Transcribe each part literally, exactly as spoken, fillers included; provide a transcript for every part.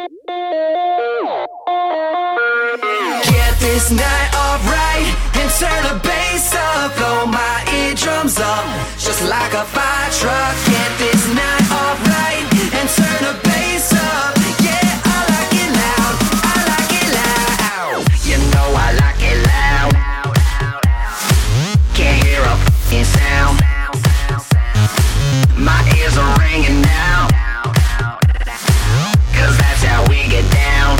Get this night off right and turn the bass up. Blow my eardrums up just like a fire truck. Get this night off right and turn the bass up. Yeah, I like it loud, I like it loud. You know I like it loud. Can't hear a f***ing sound. My ears are ringing now, 'cause that's how we get down.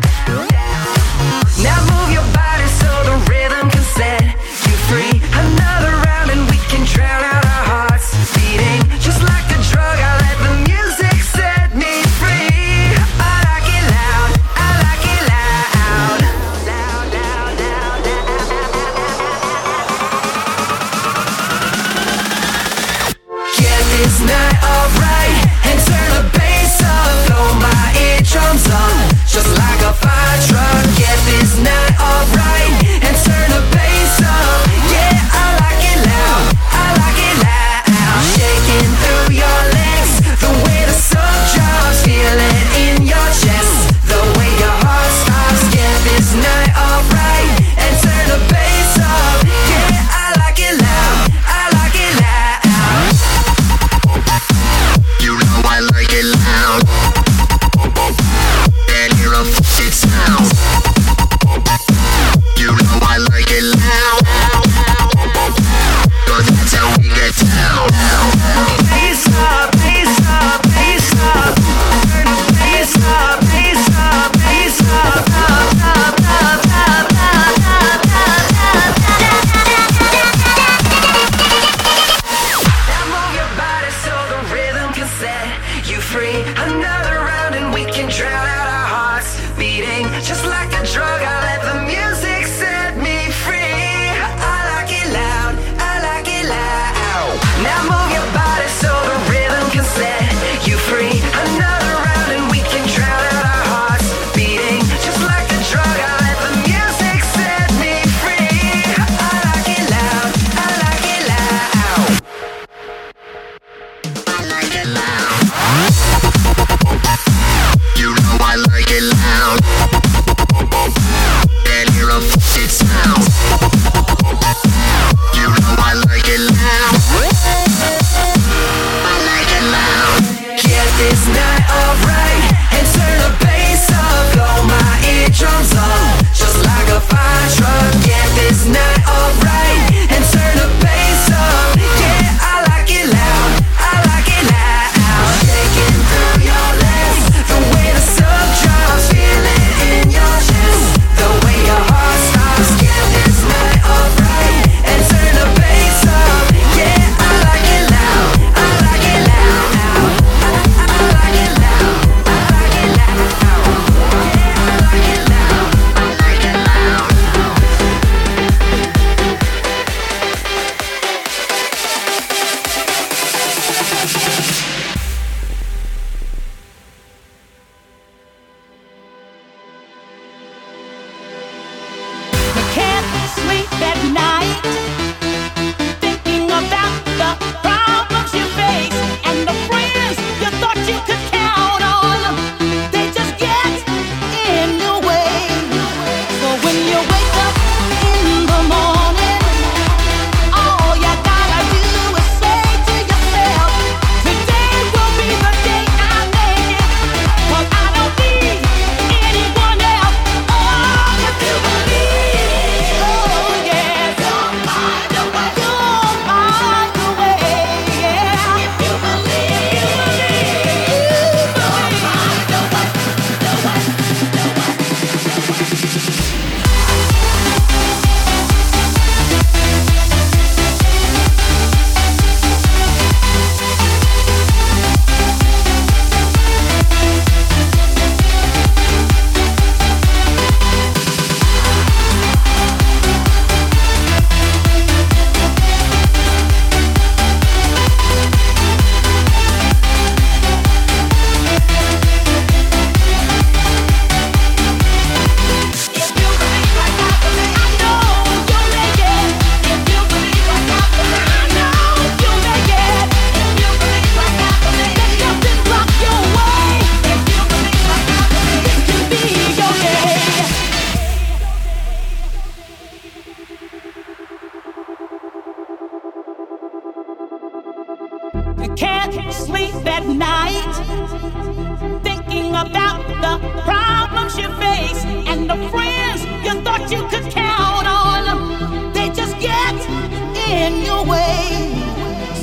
Now move your body so the rhythm can set you free. Another round and we can drown out our hearts beating just like a drug. I let the music set me free. I like it loud, I like it loud. Loud, loud, loud, loud. Get this night off right and turn the bass up. Blow my eardrums up just like a fire truck. Get this night off right and turn the bass up. Yeah, I like it loud, I like it loud. Shaking through your legs, the way the sun drops. Feel it in your chest, the way your heart stops. Get this night off right and turn the bass up. Yeah, I like it loud, I like it loud. You know I like it loud. And hear a f***ing sound. You know I like it loud. 'Cause that's how we get down. Bass up, bass up, bass up. Turn the bass up, bass up, bass up, up, up, up, up, up, up, up, Now move your body so the rhythm can set you free. Another round and we can drown out our hearts beating just like a drug. I let the music set me free. I like it loud, I like it loud. Now move your body so the rhythm can set you free. Another round and we can drown out our hearts beating just like a drug. I let the music set me free. I like it loud, I like it loud. I like it loud. You know I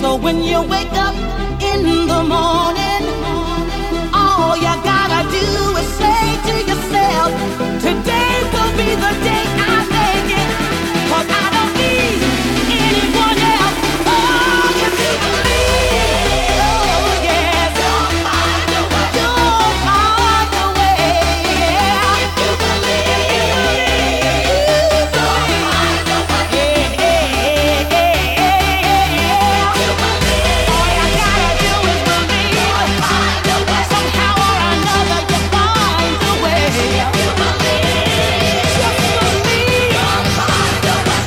So when you wake up in the morning, all you gotta do is say to yourself, today will be the day I make it, 'cause I don't need anyone else. Oh, if you believe, oh yes, you'll find a way. You'll find a way. Yeah. If you believe, you'll find a way. Yeah, yeah, yeah, yeah, yeah. You believe. All you gotta do is believe. You'll find a way. Somehow or another, you find a way. If you believe, just believe. You'll find a way.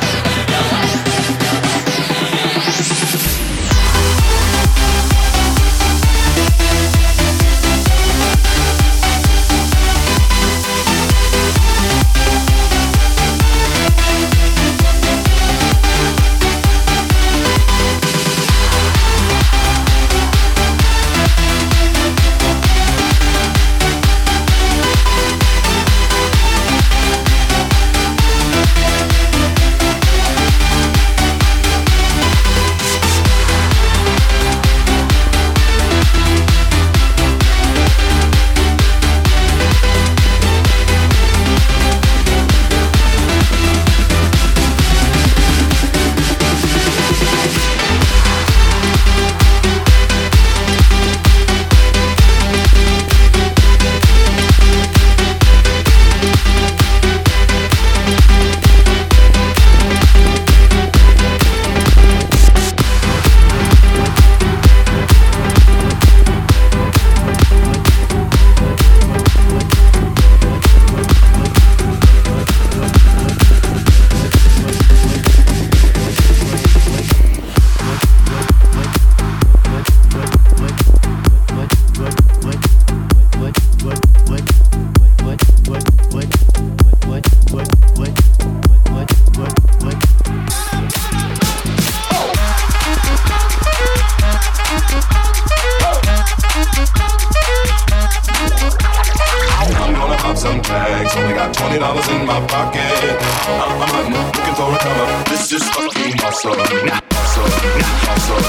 I'm gonna pop some tags. Only got twenty dollars in my pocket. I'm, I'm hunting, looking for a come up. This is fucking awesome. Awesome, awesome, awesome,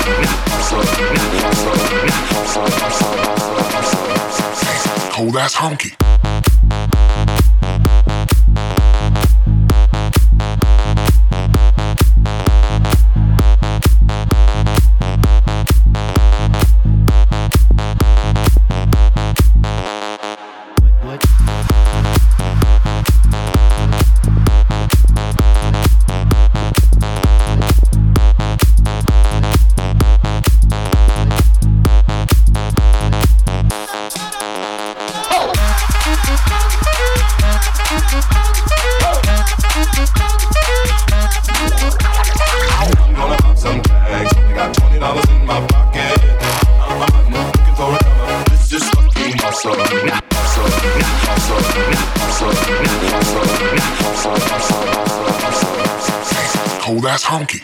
awesome, awesome, awesome. Oh, that's honky. I'm gonna pop some tags. Only got twenty dollars in my pocket. I'm, I'm hunting, looking for a come up. This is fucking awesome. Awesome, awesome, awesome, awesome, awesome, awesome, awesome. Oh, that's honky.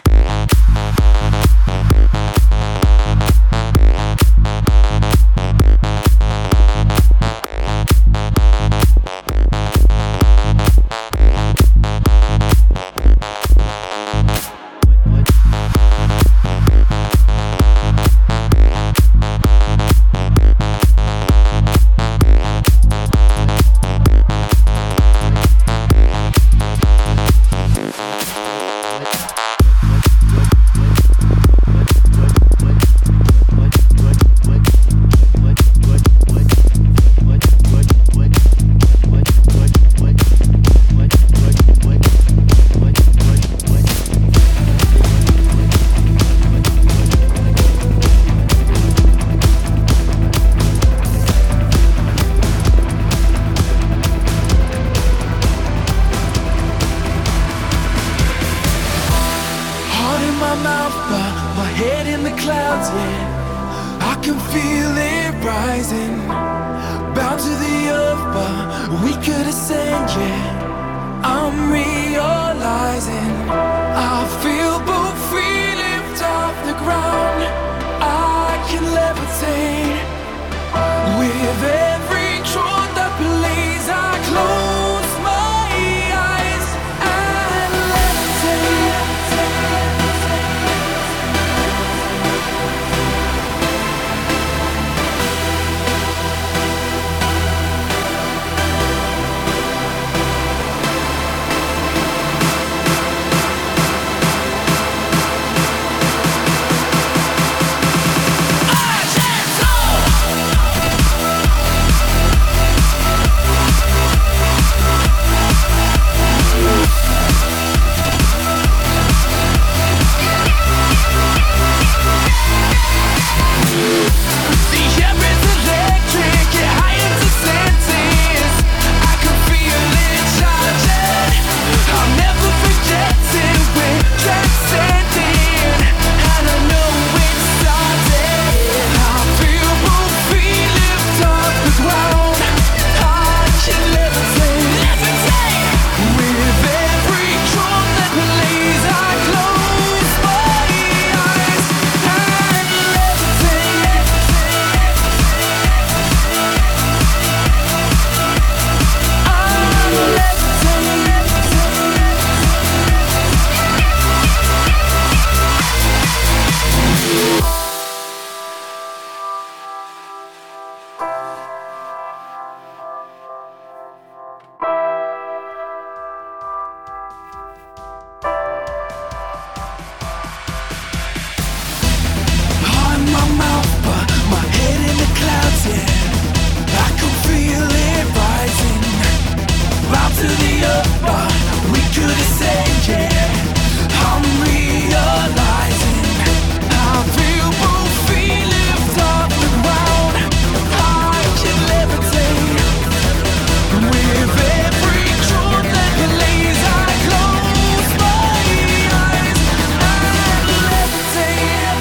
to the upper. We could have said yeah. I'm realizing I feel both feet lift off the ground. I can levitate with every truth that lays. I close my eyes and levitate.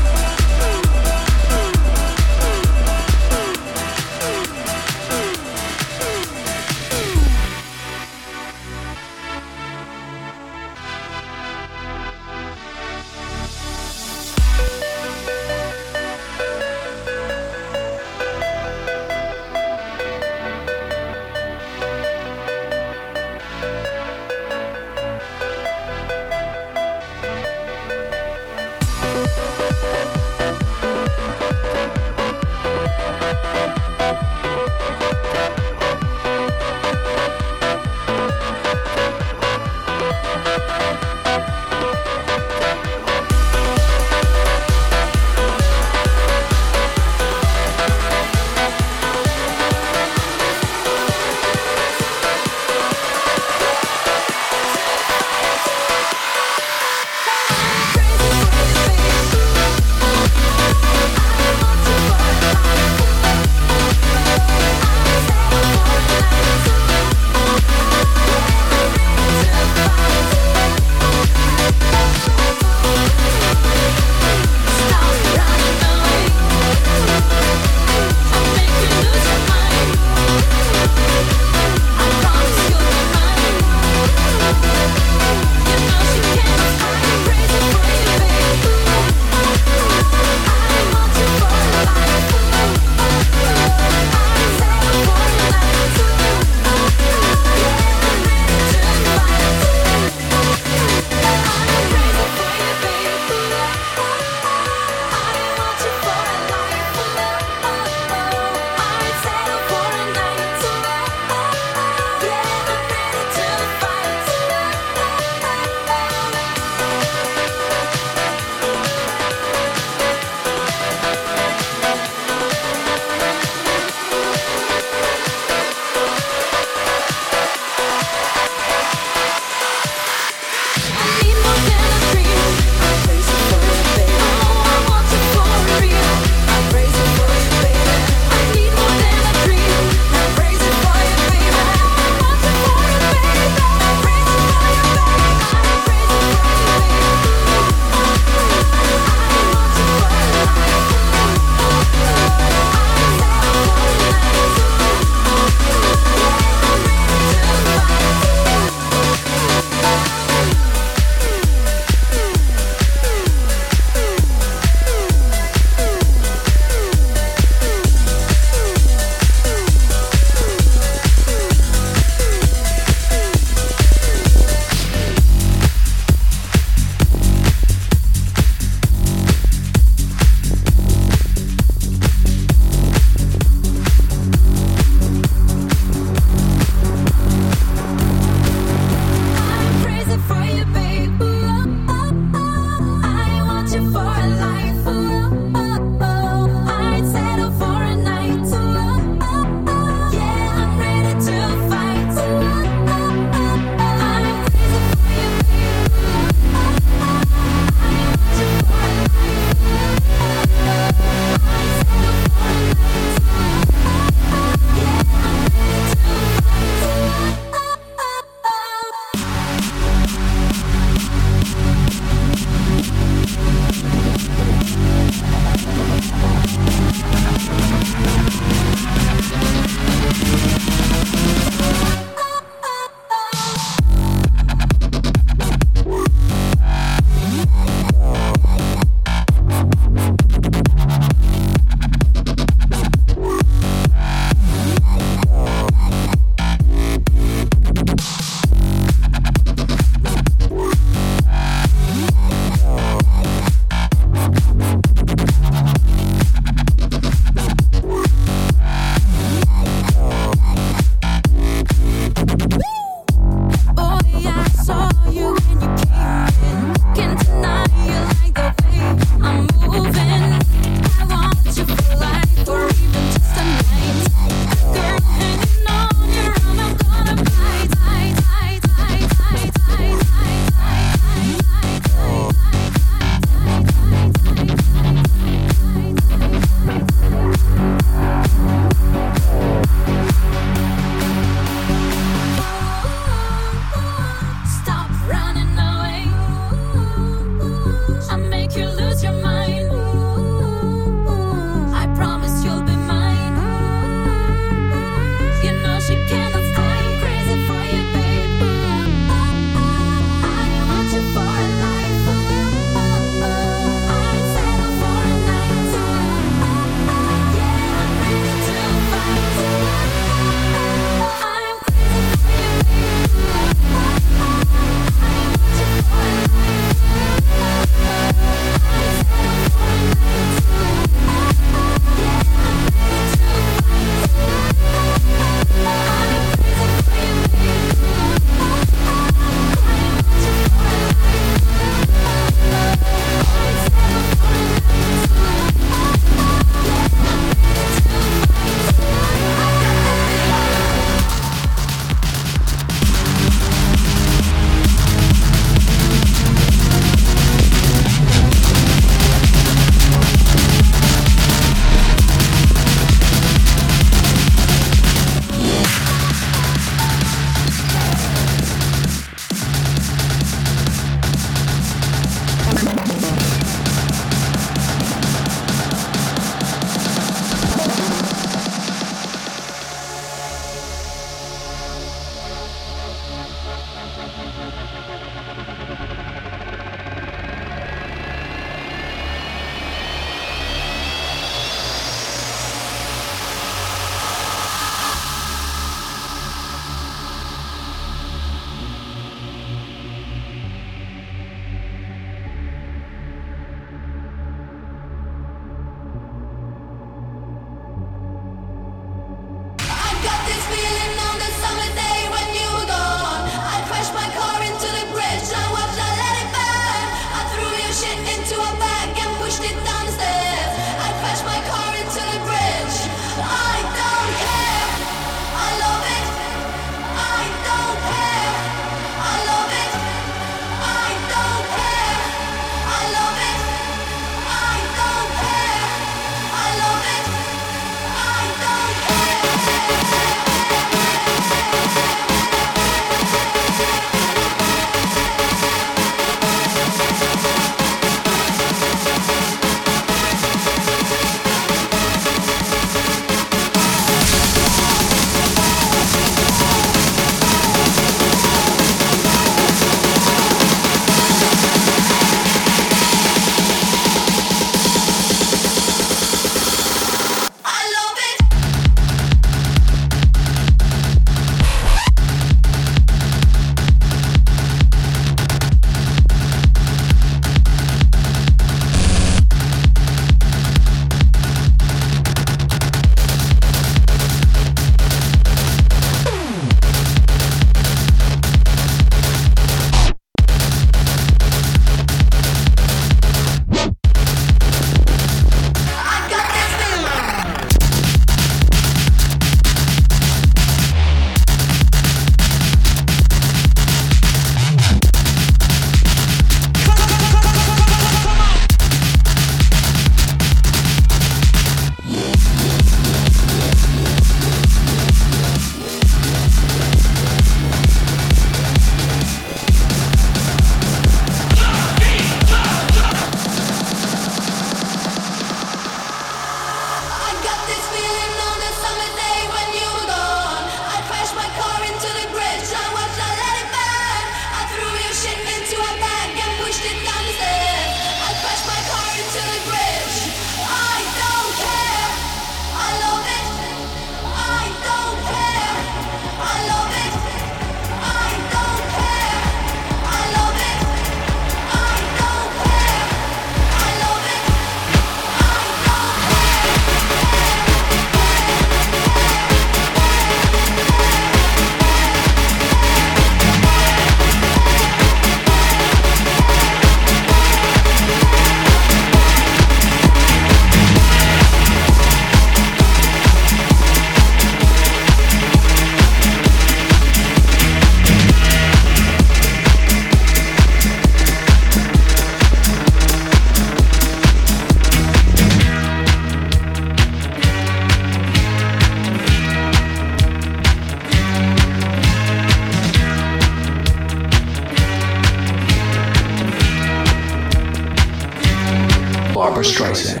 Barbra Streisand.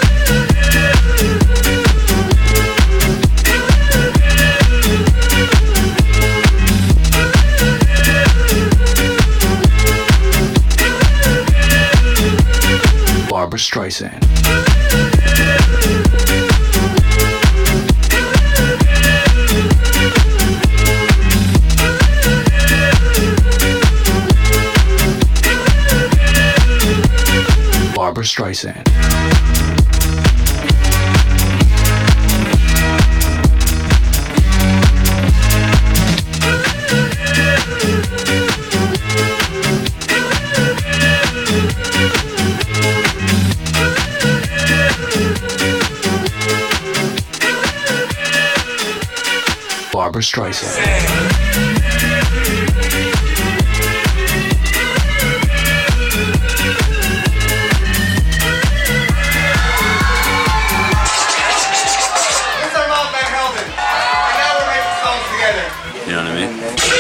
Barbra Streisand. Barbra Streisand. Barbra Streisand. You know what I mean?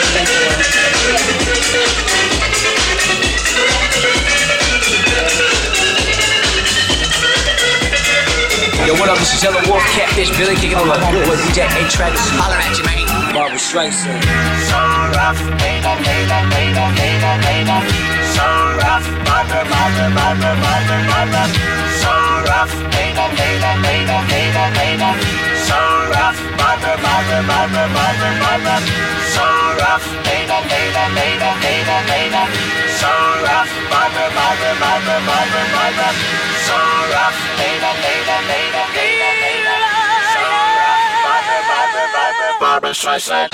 Yo, what up? This is Yellow Wolf, Catfish, Billy, kicking on my homeboy D J A-Track. Holler at you, man. Barbra Streisand. So rough, baby, baby, baby, baby, baby. So rough, Barbra, Barbra, Barbra, Barbra, Barbra. So rough, baby, baby, baby, baby, baby. So rough, Barbra, Barbra, Barbra, Barbra, Barbra. So rough, baby, baby, baby, baby, baby. So rough, Barbra, Barbra, Barbra, Barbra, Barbra. So rough, baby, baby, baby, baby, baby. So rough, Barbra, Barbra, Barbra, Barbra Streisand.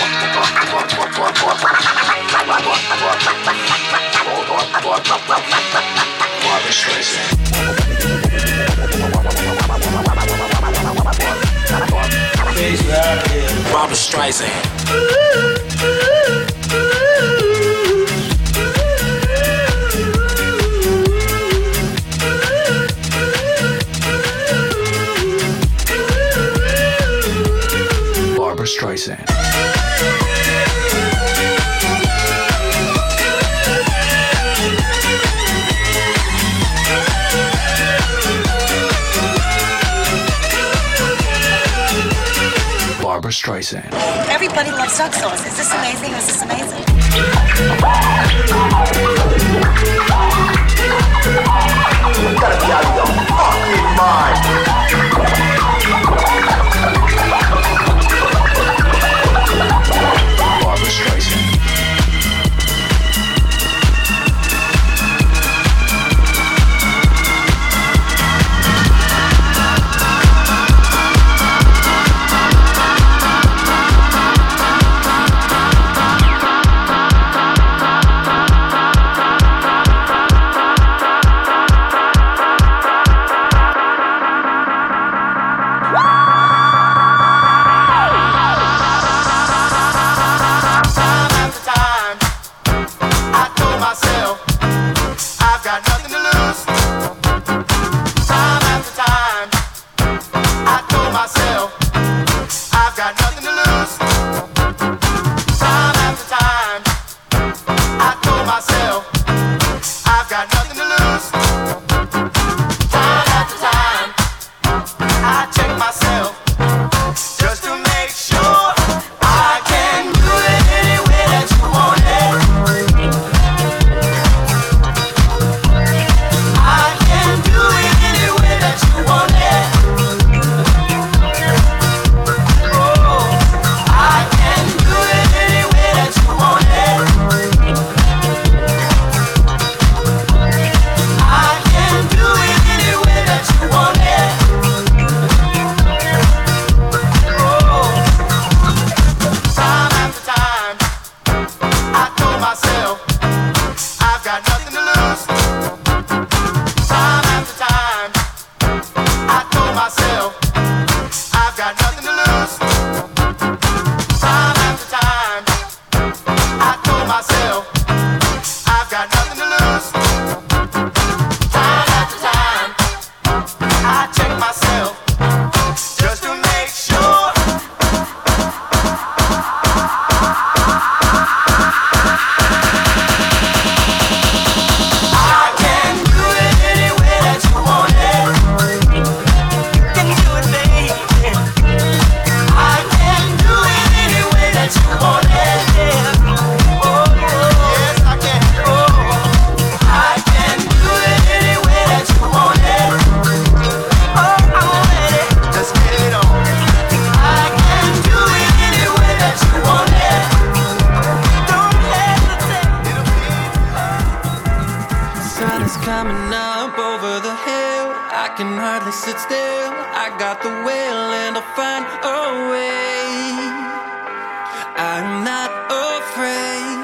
Barbra Streisand. Barbra Streisand. Barbra Streisand. Barbra Streisand. Everybody loves duck sauce. Is this amazing? Is this amazing? You gotta be out of your fucking mind. Barbra Streisand. Coming up over the hill, I can hardly sit still. I got the will and I'll find a way. I'm not afraid.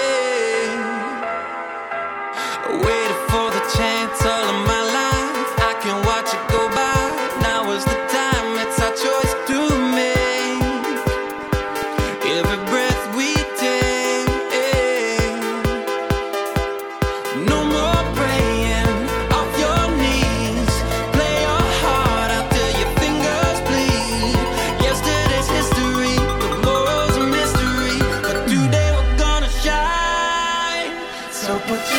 Waited for the chance all of my life. I can watch it go by. Now is the time, it's our choice to make. Every breath we take. No more praying off your knees. Play your heart out till your fingers bleed. Yesterday's history, tomorrow's a mystery, but today we're gonna shine. So put your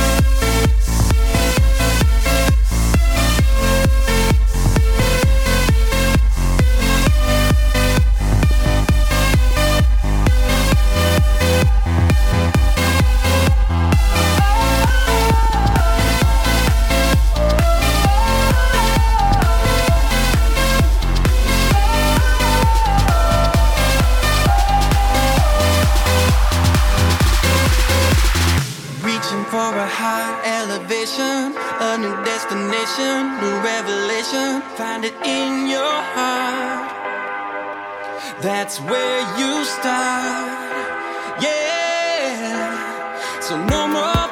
for a high elevation, a new destination, new revelation. Find it in your heart. That's where you start. Yeah. So no more